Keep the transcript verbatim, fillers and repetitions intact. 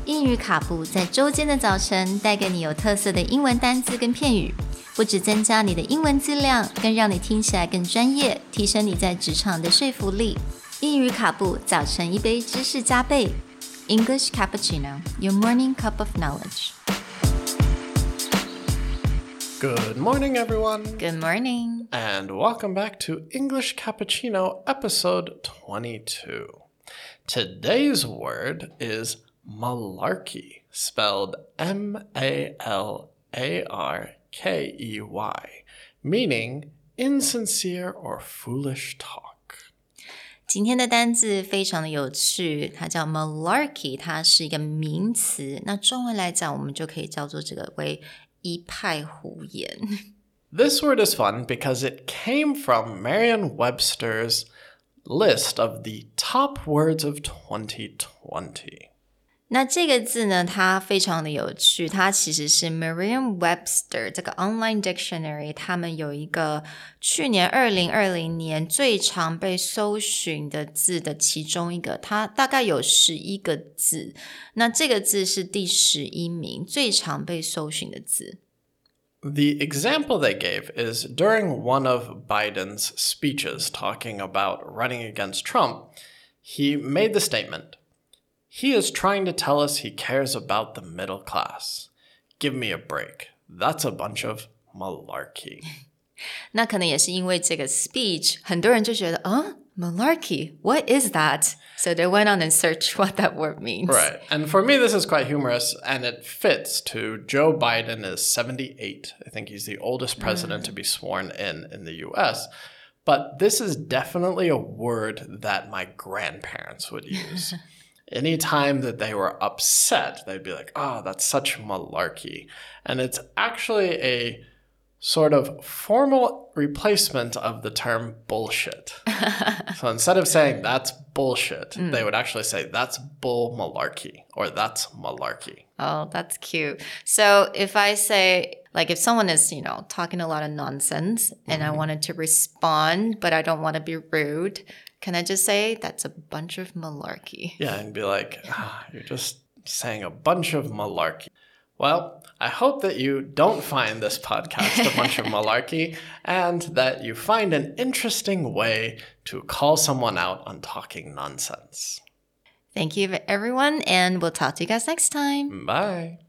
英语卡布在周间的早晨带给你有特色的英文单字跟片语，不只增加你的英文质量，更让你听起来更专业，提升你在职场的说服力。英语卡布早晨一杯知识加倍 English Cappuccino, your morning cup of knowledge. Good morning, everyone. Good morning. And welcome back to English Cappuccino, episode twenty-two. Today's word is malarkey, spelled M A L A R K E Y, meaning insincere or foolish talk. 今天的单字非常的有趣，它叫 malarkey， 它是一个名词，那中文来讲我们就可以叫做这个为一派胡言。 This word is fun because it came from Merriam-Webster's list of the top words of twenty twenty. 那这个字呢，它非常的有趣，它其实是 Merriam-Webster 这个 online dictionary 他们有一个去年二零二零年最常被搜寻的字的其中一个，它大概有十一个字，那这个字是第十一名最常被搜寻的字。 The example they gave is during one of Biden's speeches talking about running against Trump, he made the statement,He is trying to tell us he cares about the middle class. Give me a break. That's a bunch of malarkey. 那可能也是因为这个 speech 很多人就觉得啊 malarkey, what is that? So they went on and searched what that word means. Right. And for me, this is quite humorous, and it fits to Joe Biden is seventy-eight. I think he's the oldest president mm. to be sworn in in the U S. But this is definitely a word that my grandparents would use. Anytime that they were upset, they'd be like, oh, that's such malarkey. And it's actually a sort of formal replacement of the term bullshit. So instead of saying that's bullshit, mm. they would actually say that's bull malarkey or that's malarkey. Oh, that's cute. So if I say, like if someone is, you know, talking a lot of nonsense and mm-hmm. I wanted to respond, but I don't want to be rude,Can I just say that's a bunch of malarkey? Yeah, and be like, ah, you're just saying a bunch of malarkey. Well, I hope that you don't find this podcast a bunch of malarkey and that you find an interesting way to call someone out on talking nonsense. Thank you, everyone, and we'll talk to you guys next time. Bye.